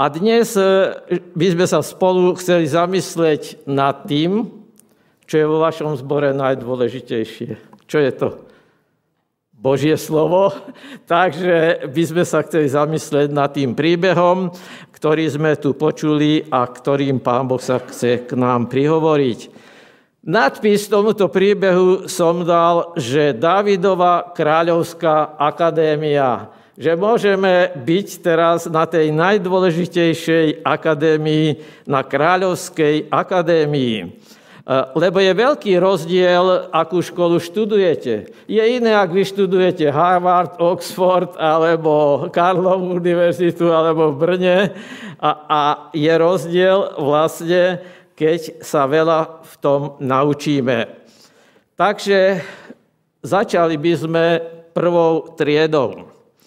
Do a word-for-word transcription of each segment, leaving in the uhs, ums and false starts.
A dnes by sme sa spolu chceli zamyslieť nad tým, čo je vo vašom zbore najdôležitejšie. Čo je to? Božie slovo. Takže by sme sa chceli zamyslieť nad tým príbehom, ktorý sme tu počuli a ktorým Pán Boh sa chce k nám prihovoriť. Nadpis tomuto príbehu som dal, že Dávidova kráľovská akadémia. Že môžeme byť teraz na tej najdôležitejšej akadémii, na kráľovskej akadémii. Lebo je veľký rozdiel, akú školu študujete. Je iné, ak vy študujete Harvard, Oxford, alebo Karlovu univerzitu, alebo v Brne. A, a je rozdiel vlastne, keď sa veľa v tom naučíme. Takže začali by sme prvou triedou.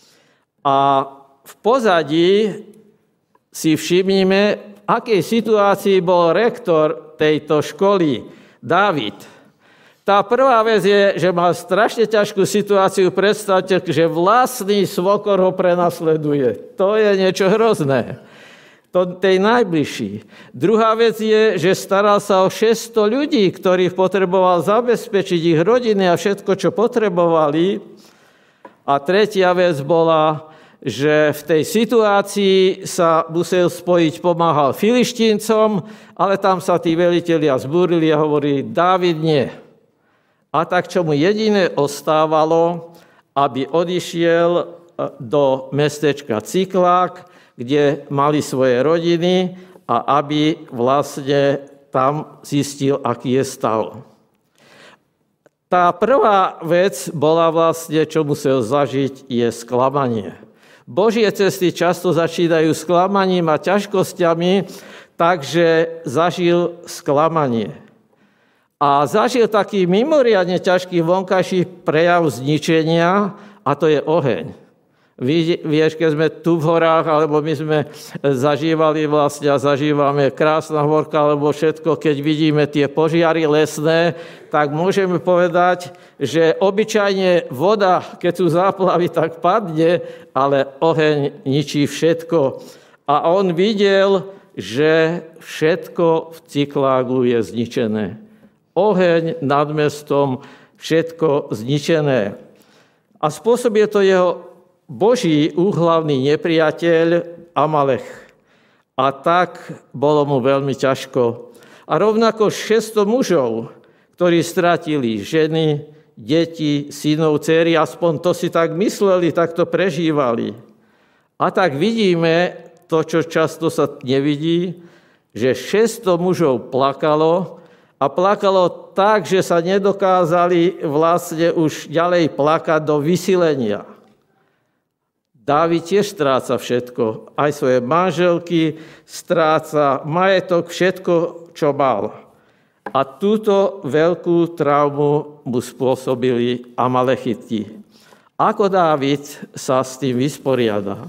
A v pozadí si všimnime, v akej situácii bol rektor tejto školy, Dávid. Tá prvá vec je, že mal strašne ťažkú situáciu. Predstavte, že vlastný svokor ho prenasleduje. To je niečo hrozné. To tej najbližší. Druhá vec je, že staral sa o šesťsto ľudí, ktorých potreboval zabezpečiť ich rodiny a všetko, čo potrebovali. A tretia vec bola, že v tej situácii sa musel spojiť, pomáhal Filištíncom, ale tam sa tí velitelia zbúrili a hovorili, Dávid nie. A tak, čo mu jediné ostávalo, aby odišiel do mestečka Ciklák, kde mali svoje rodiny a aby vlastne tam zistil, aký je stav. Tá prvá vec bola vlastne, čo musel zažiť, je sklamanie. Božie cesty často začínajú sklamaním a ťažkosťami, takže zažil sklamanie. A zažil taký mimoriadne ťažký vonkajší prejav zničenia, a to je oheň. Vieš, keď sme tu v horách, alebo my sme zažívali vlastne a zažívame Krásna horka, alebo všetko, keď vidíme tie požiary lesné, tak môžeme povedať, že obyčajne voda, keď sú záplavy, tak padne, ale oheň ničí všetko. A on videl, že všetko v Ciklágu je zničené. Oheň nad mestom, všetko zničené. A spôsobuje to jeho Boží úhlavný nepriateľ Amalech. A tak bolo mu veľmi ťažko. A rovnako šesťsto mužov, ktorí stratili ženy, deti, synov, dcery, aspoň to si tak mysleli, tak to prežívali. A tak vidíme to, čo často sa nevidí, že šesťsto mužov plakalo a plakalo tak, že sa nedokázali vlastne už ďalej plakať do vysilenia. Dávid tiež stráca všetko, aj svoje manželky, stráca majetok, všetko, čo mal. A túto veľkú traumu mu spôsobili Amalechiti. Ako Dávid sa s tým vysporiada?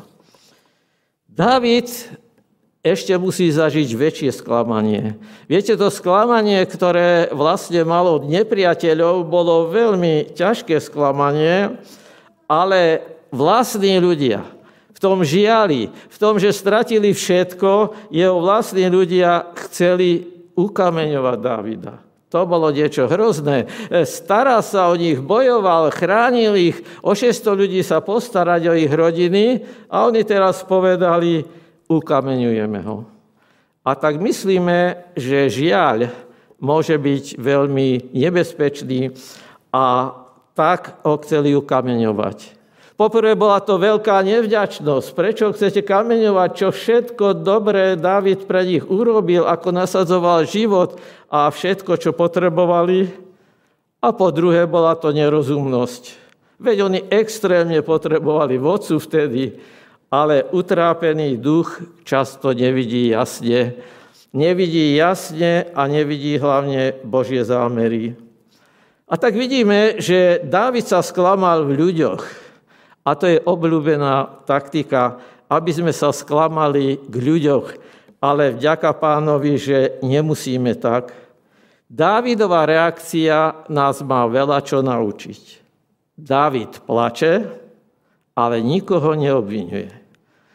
Dávid ešte musí zažiť väčšie sklamanie. Viete, to sklamanie, ktoré vlastne malo nepriateľov, bolo veľmi ťažké sklamanie, ale vlastní ľudia v tom žiali, v tom, že stratili všetko, jeho vlastní ľudia chceli ukameňovať Dávida. To bolo niečo hrozné. Staral sa o nich, bojoval, chránil ich, o šesťsto ľudí sa postarať o ich rodiny a oni teraz povedali, ukameňujeme ho. A tak myslíme, že žiaľ môže byť veľmi nebezpečný a tak ho chceli ukameňovať. Poprvé bola to veľká nevďačnosť. Prečo chcete kameňovať, čo všetko dobré Dávid pre nich urobil, ako nasadzoval život a všetko, čo potrebovali? A po druhé bola to nerozumnosť. Veď oni extrémne potrebovali vodcu vtedy, ale utrápený duch často nevidí jasne. Nevidí jasne a nevidí hlavne Božie zámery. A tak vidíme, že Dávid sa sklamal v ľuďoch. A to je obľúbená taktika, aby sme sa sklamali k ľuďoch, ale vďaka Pánovi, že nemusíme tak. Dávidová reakcia nás má veľa čo naučiť. Dávid plače, ale nikoho neobviňuje.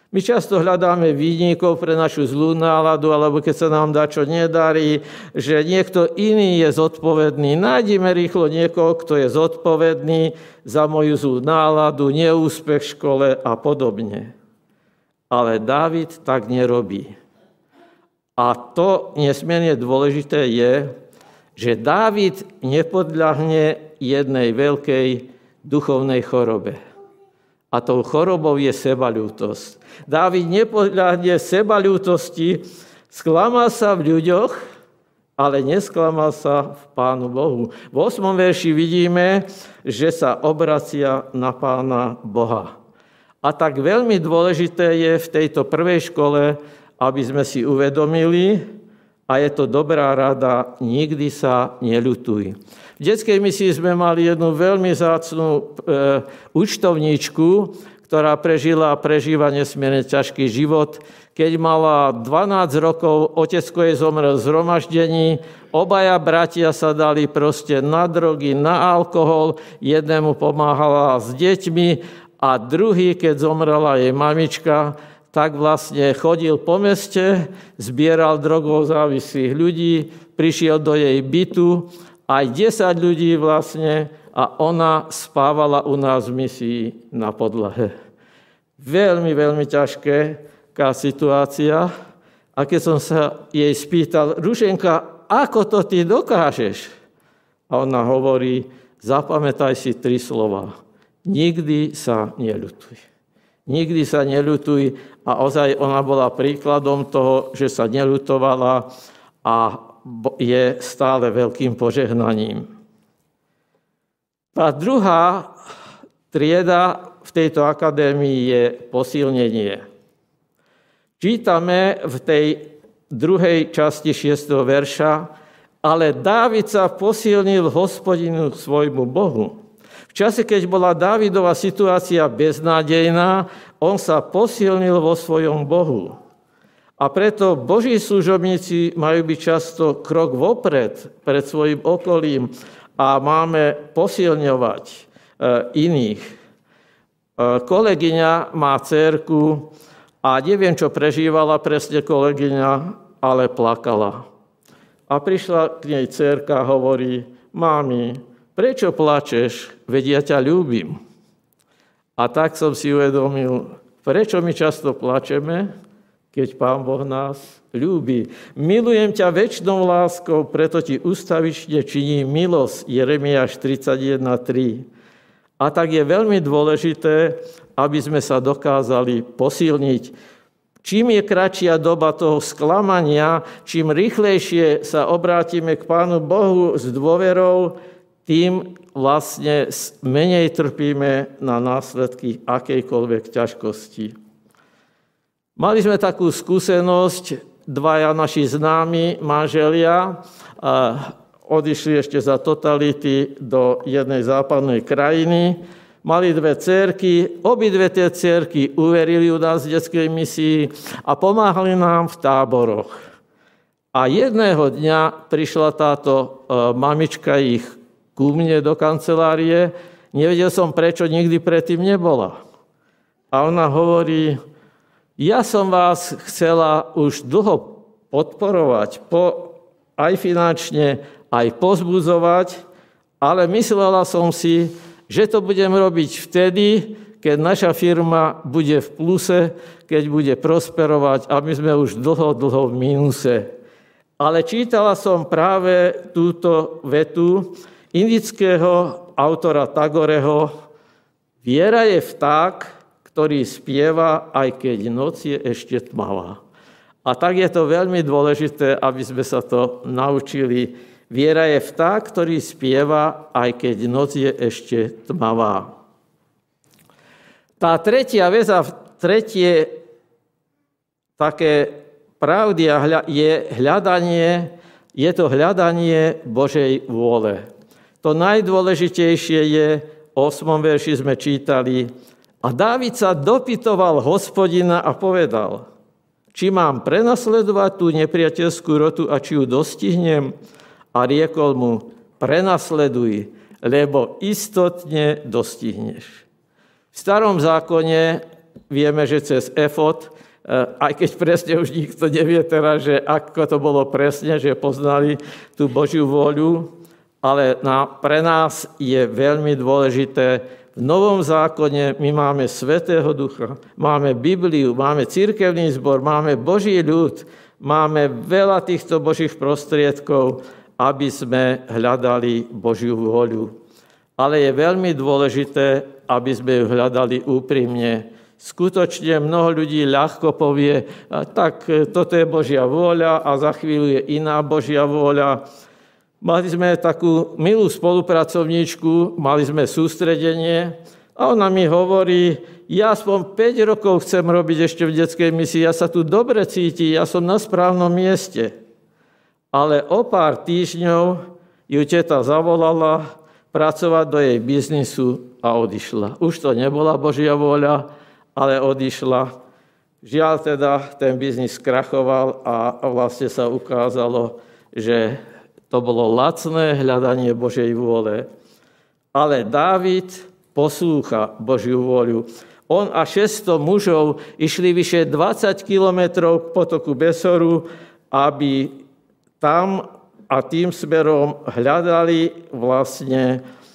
My často hľadáme vinníkov pre našu zlú náladu, alebo keď sa nám dá čo nedarí, že niekto iný je zodpovedný. Nájdime rýchlo niekoho, kto je zodpovedný za moju zlú náladu, neúspech v škole a podobne. Ale Dávid tak nerobí. A to nesmierne dôležité je, že Dávid nepodľahne jednej veľkej duchovnej chorobe. A tou chorobou je sebaľútosť. Dávid nepodľahne sebaľútosti, sklamal sa v ľuďoch, ale nesklamal sa v Pánu Bohu. V ôsmom verši vidíme, že sa obracia na Pána Boha. A tak veľmi dôležité je v tejto prvej škole, aby sme si uvedomili, a je to dobrá rada, nikdy sa neľutuj. V detskej misii sme mali jednu veľmi vzácnu e, účtovníčku, ktorá prežila a prežíva nesmierne ťažký život. Keď mala dvanásť rokov, otecko jej zomrel v zhromaždení, obaja bratia sa dali proste na drogy, na alkohol, jednému pomáhala s deťmi a druhý, keď zomrela jej mamička, tak vlastne chodil po meste, zbieral drogou závislých ľudí, prišiel do jej bytu, aj desať ľudí vlastne, a ona spávala u nás v misii na podlahe. Veľmi, veľmi ťažká situácia. A keď som sa jej spýtal, Ruženka, ako to ty dokážeš? A ona hovorí, zapamätaj si tri slova. Nikdy sa neľutuj. Nikdy sa neľutuj. A ozaj ona bola príkladom toho, že sa neľutovala a je stále veľkým požehnaním. Tá druhá trieda v tejto akadémii je posilnenie. Čítame v tej druhej časti šiesteho verša, ale Dávid sa posilnil Hospodinu svojmu Bohu. V čase, keď bola Dávidova situácia beznádejná, on sa posilnil vo svojom Bohu. A preto Boží služobníci majú byť často krok vopred pred svojim okolím a máme posilňovať iných. Kolegyňa má dcérku a neviem, čo prežívala presne kolegyňa, ale plakala. A prišla k nej dcérka a hovorí, mami, prečo plačeš? Veď ja ťa ľúbim. A tak som si uvedomil, prečo my často plačeme, keď Pán Boh nás ľúbi. Milujem ťa večnou láskou, preto ti ustavične činí milosť. Jeremiáš tridsaťjeden tri. A tak je veľmi dôležité, aby sme sa dokázali posilniť. Čím je kratšia doba toho sklamania, čím rýchlejšie sa obrátime k Pánu Bohu s dôverou, tým vlastne menej trpíme na následky akejkoľvek ťažkosti. Mali sme takú skúsenosť, dvaja naši známi manželia odišli ešte za totality do jednej západnej krajiny, mali dve dcérky, obidve tie dcérky uverili u nás v detskej misii a pomáhali nám v táboroch. A jedného dňa prišla táto mamička ich ku mne do kancelárie, nevedel som, prečo nikdy predtým nebola. A ona hovorí, ja som vás chcela už dlho podporovať, po, aj finančne, aj pozbudzovať, ale myslela som si, že to budem robiť vtedy, keď naša firma bude v pluse, keď bude prosperovať a my sme už dlho, dlho v mínuse. Ale čítala som práve túto vetu indického autora Tagoreho. Viera je vták, ktorý spieva, aj keď noc je ešte tmavá. A tak je to veľmi dôležité, aby sme sa to naučili. Viera je vták, ktorý spieva, aj keď noc je ešte tmavá. Tá tretia vec a tretie také pravdy je hľadanie, je to hľadanie Božej vôle. To najdôležitejšie je, v ôsmom verši sme čítali, a Dávid sa dopytoval Hospodina a povedal, či mám prenasledovať tú nepriateľskú rotu a či ju dostihnem? A riekol mu, prenasleduj, lebo istotne dostihneš. V starom zákone vieme, že cez efod, aj keď presne už nikto nevie teraz, že ako to bolo presne, že poznali tú Božiu vôľu, ale na, pre nás je veľmi dôležité, v Novom zákone my máme Svätého Ducha, máme Bibliu, máme cirkevný zbor, máme Boží ľud, máme veľa týchto Božích prostriedkov, aby sme hľadali Božiu vôľu. Ale je veľmi dôležité, aby sme ju hľadali úprimne. Skutočne mnoho ľudí ľahko povie, tak toto je Božia vôľa a za chvíľu je iná Božia vôľa. Mali sme takú milú spolupracovníčku, mali sme sústredenie a ona mi hovorí, ja aspoň päť rokov chcem robiť ešte v detskej misii, ja sa tu dobre cítim, ja som na správnom mieste. Ale o pár týždňov ju teta zavolala pracovať do jej biznisu a odišla. Už to nebola Božia vôľa, ale odišla. Žiaľ teda, ten biznis skrachoval a vlastne sa ukázalo, že to bolo lacné hľadanie Božej vôle. Ale Dávid poslúcha Božiu vôľu. On a šesťsto mužov išli vyše dvadsať kilometrov k potoku Besoru, aby tam a tým smerom hľadali vlastne,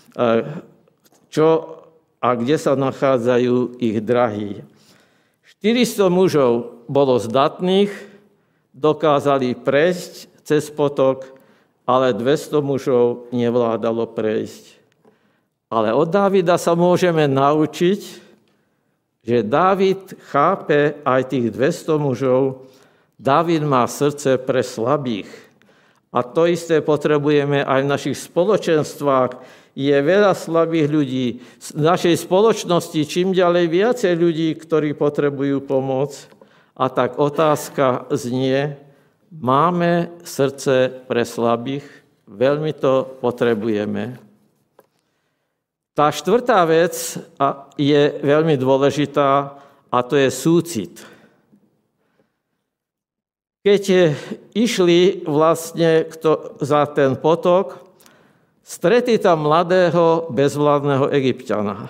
čo a kde sa nachádzajú ich drahí. štyristo mužov bolo zdatných, dokázali prejsť cez potok, ale dvesto mužov nevládalo prejsť. Ale od Dávida sa môžeme naučiť, že Dávid chápe aj tých dvesto mužov. Dávid má srdce pre slabých. A to isté potrebujeme aj v našich spoločenstvách. Je veľa slabých ľudí. V našej spoločnosti čím ďalej viacej ľudí, ktorí potrebujú pomoc. A tak otázka znie, máme srdce pre slabých? Veľmi to potrebujeme. Tá štvrtá vec je veľmi dôležitá a to je súcit. Keď išli vlastne za ten potok, stretli tam mladého bezvládneho Egypťana.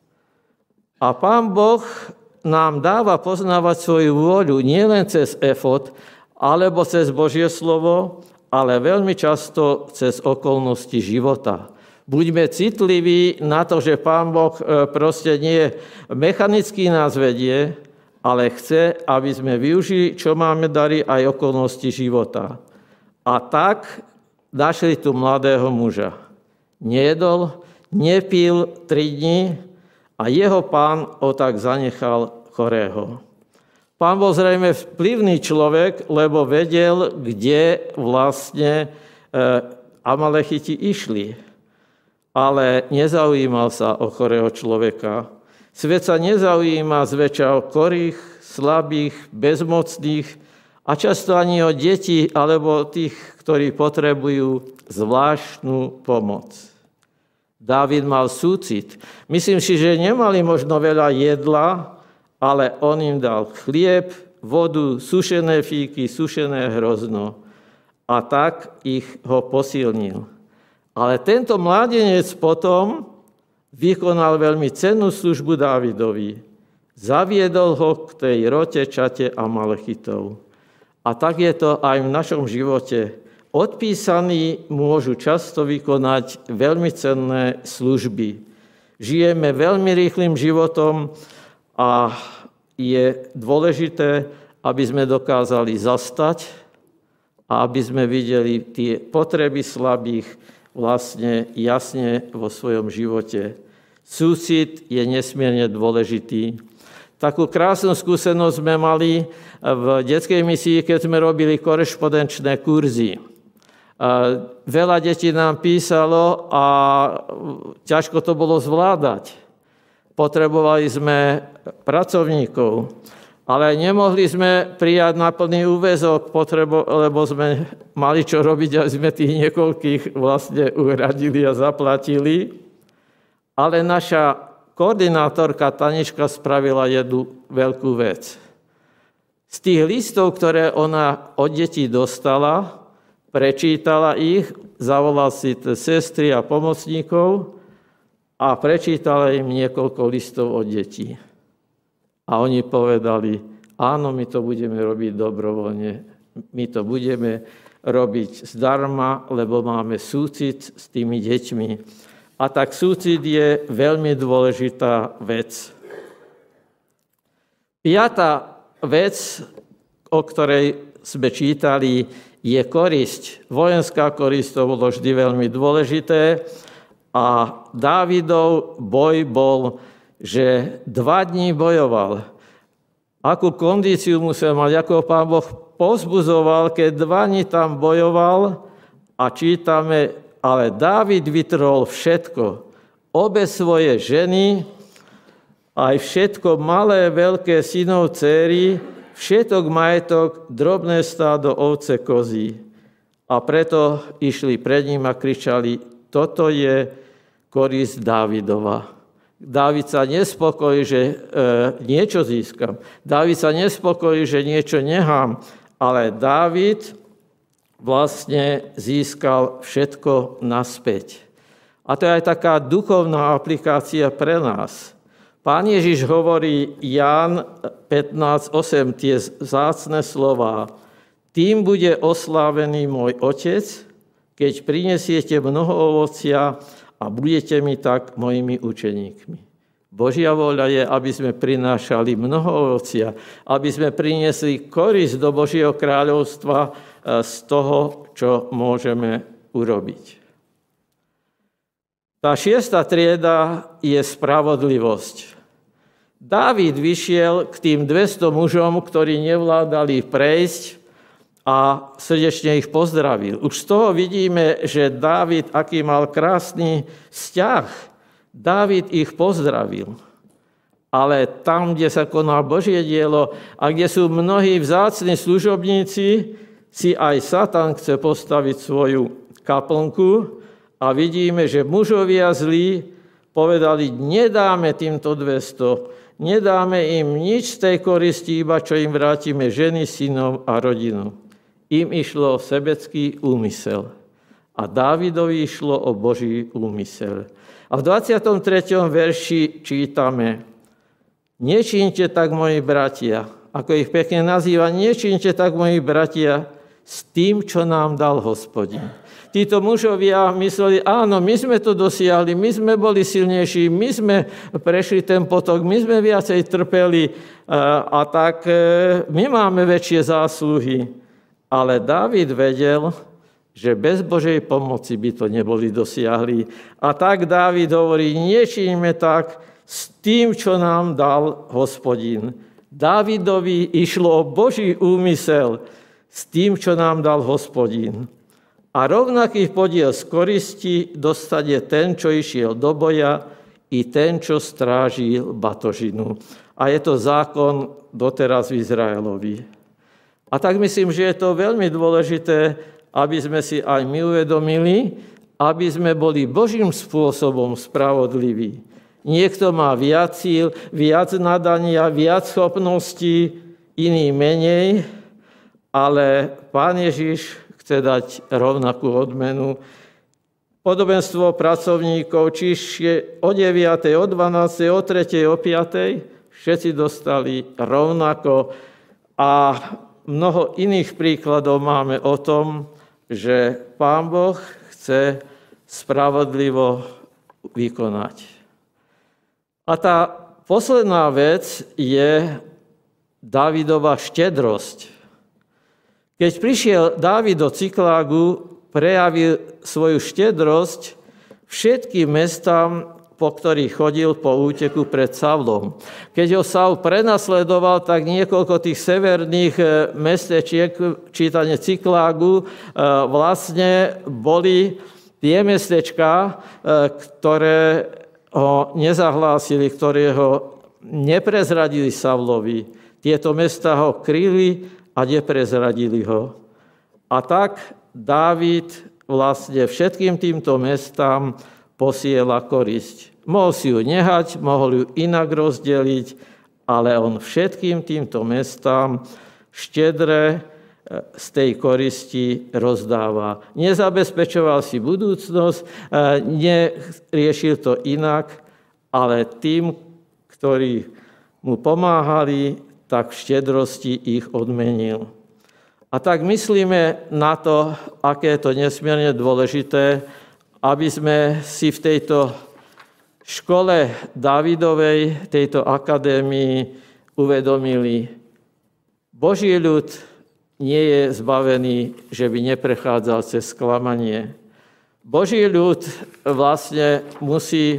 A Pán Boh nám dáva poznávať svoju vôľu nielen cez efod, alebo cez Božie slovo, ale veľmi často cez okolnosti života. Buďme citliví na to, že Pán Boh proste nie mechanicky nás vedie, ale chce, aby sme využili, čo máme dary, aj okolnosti života. A tak našli tu mladého muža. Nejedol, nepil tri dni a jeho pán ho tak zanechal chorého. Pán bol zrejme vplyvný človek, lebo vedel, kde vlastne Amalechiti išli. Ale nezaujímal sa o chorého človeka. Svet sa nezaujíma zväčša o chorých, slabých, bezmocných a často ani o deti alebo tých, ktorí potrebujú zvláštnu pomoc. Dávid mal súcit. Myslím si, že nemali možno veľa jedla, ale on im dal chlieb, vodu, sušené fíky, sušené hrozno. A tak ich ho posilnil. Ale tento mládenec potom vykonal veľmi cennú službu Dávidovi. Zaviedol ho k tej rote, čate Amalechitov. A tak je to aj v našom živote. Odpísaní môžu často vykonať veľmi cenné služby. Žijeme veľmi rýchlym životom a je dôležité, aby sme dokázali zastať a aby sme videli tie potreby slabých vlastne jasne vo svojom živote. Súcit je nesmierne dôležitý. Takú krásnu skúsenosť sme mali v detskej misii, keď sme robili korešpondenčné kurzy. Veľa detí nám písalo a ťažko to bolo zvládať. Potrebovali sme pracovníkov, ale nemohli sme prijať na plný úväzok, lebo sme mali čo robiť a sme tých niekoľkých vlastne uhradili a zaplatili. Ale naša koordinátorka Tanička spravila jednu veľkú vec. Z tých listov, ktoré ona od detí dostala, prečítala ich, zavolala si sestry a pomocníkov a prečítala im niekoľko listov od detí. A oni povedali, áno, my to budeme robiť dobrovoľne, my to budeme robiť zdarma, lebo máme súcit s tými deťmi. A tak súcit je veľmi dôležitá vec. Piatá vec, o ktorej sme čítali, je korisť. Vojenská korisť, to bolo vždy veľmi dôležité. A Dávidov boj bol, že dva dní bojoval. Akú kondíciu musel mať, ako Pán Boh povzbudzoval, keď dva dní tam bojoval, a čítame, ale Dávid vytrhol všetko. Obe svoje ženy, aj všetko malé, veľké synov, dcéry, všetok majetok, drobné stádo, ovce, kozy. A preto išli pred ním a kričali, toto je korisť Dávidova. Dávid sa nespokojí, že e, niečo získam. Dávid sa nespokojí, že niečo nechám. Ale Dávid vlastne získal všetko naspäť. A to je aj taká duchovná aplikácia pre nás. Pán Ježiš hovorí Ján pätnásť osem tie vzácne slová. Tým bude oslávený môj Otec, keď prinesiete mnoho ovocia a budete mi tak mojimi učeníkmi. Božia vôľa je, aby sme prinášali mnoho ovocia, aby sme priniesli korisť do Božieho kráľovstva z toho, čo môžeme urobiť. Tá šiesta trieda je spravodlivosť. Dávid vyšiel k tým dvesto mužom, ktorí nevládali prejsť, a srdečne ich pozdravil. Už z toho vidíme, že Dávid, aký mal krásny vzťah, Dávid ich pozdravil. Ale tam, kde sa koná Božie dielo a kde sú mnohí vzácni služobníci, si aj Satan chce postaviť svoju kaplnku a vidíme, že mužovia zlí povedali, nedáme týmto dvesto, nedáme im nič z tej koristi, iba čo im vrátime ženy, synov a rodinu. Im išlo o sebecký úmysel. A Dávidovi išlo o Boží úmysel. A v dvadsiatom treťom verši čítame, nečínte tak, moji bratia, ako ich pekne nazýva, nečínte tak, moji bratia, s tým, čo nám dal Hospodin. Títo mužovia mysleli, áno, my sme to dosiahli, my sme boli silnejší, my sme prešli ten potok, my sme viacej trpeli a tak my máme väčšie zásluhy. Ale Dávid vedel, že bez Božej pomoci by to neboli dosiahli. A tak Dávid hovorí, nečínme tak s tým, čo nám dal Hospodin. Dávidovi išlo o Boží úmysel s tým, čo nám dal Hospodin. A rovnaký podiel z koristi dostane ten, čo išiel do boja, i ten, čo strážil batožinu. A je to zákon doteraz v Izraelovi. A tak myslím, že je to veľmi dôležité, aby sme si aj my uvedomili, aby sme boli Božím spôsobom spravodliví. Niekto má viac síl, viac nadania, viac schopností, iný menej, ale Pán Ježiš chce dať rovnakú odmenu. Podobenstvo pracovníkov, čiže o deviatej, o dvanástej, o tretej, o piatej, všetci dostali rovnako. A mnoho iných príkladov máme o tom, že Pán Boh chce spravodlivo vykonať. A tá posledná vec je Dávidova štedrosť. Keď prišiel Dávid do Ciklágu, prejavil svoju štedrosť všetkým mestám, po ktorých chodil po úteku pred Saulom. Keď ho Saul prenasledoval, tak niekoľko tých severných mestečiek, čítanie Ciklágu, vlastne boli tie mestečká, ktoré ho nezahlásili, ktoré ho neprezradili Saulovi. Tieto mestá ho kryli a neprezradili ho. A tak Dávid vlastne všetkým týmto mestám posiela korisť. Mohol si ju nehať, mohol ju inak rozdeliť, ale on všetkým týmto mestám štedre z tej koristi rozdáva. Nezabezpečoval si budúcnosť, neriešil to inak, ale tým, ktorí mu pomáhali, tak v štedrosti ich odmenil. A tak myslíme na to, aké je to nesmierne dôležité, aby sme si v tejto škole Dávidovej, tejto akadémii uvedomili, Boží ľud nie je zbavený, že by neprechádzal cez sklamanie. Boží ľud vlastne musí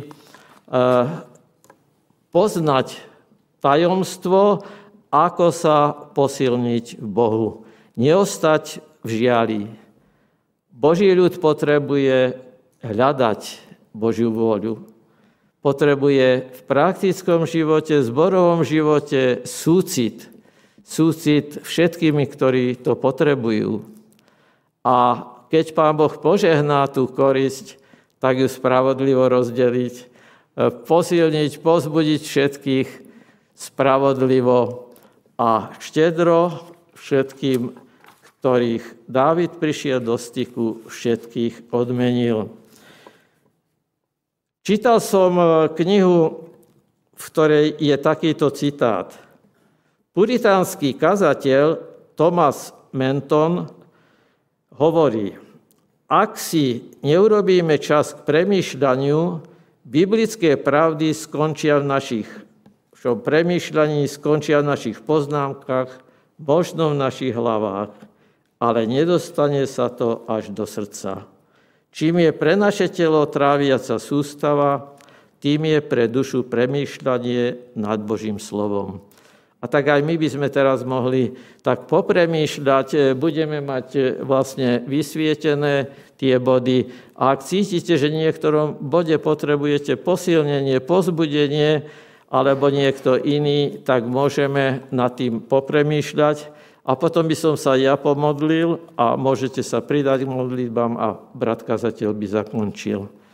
poznať tajomstvo, ako sa posilniť v Bohu. Neostať v žiali. Boží ľud potrebuje hľadať Božiu vôľu. Potrebuje v praktickom živote, zborovom živote súcit. Súcit všetkými, ktorí to potrebujú. A keď Pán Boh požehná tú korisť, tak ju spravodlivo rozdeliť, posilniť, pozbudiť všetkých spravodlivo a štedro všetkým, ktorých Dávid prišiel do styku, všetkých odmenil. Čítal som knihu, v ktorej je takýto citát. Puritánsky kazateľ Thomas Menton hovorí, ak si neurobíme čas k premýšľaniu, biblické pravdy skončia v našich v premýšľaní, skončia v našich poznámkach, možno v našich hlavách, ale nedostane sa to až do srdca. Čím je pre naše telo tráviaca sústava, tým je pre dušu premýšľanie nad Božím slovom. A tak aj my by sme teraz mohli tak popremýšľať, budeme mať vlastne vysvietené tie body. A ak cítite, že v niektorom bode potrebujete posilnenie, pozbudenie, alebo niekto iný, tak môžeme nad tým popremýšľať. A potom by som sa ja pomodlil a môžete sa pridať k modlitbám a brat kazateľ by zakončil.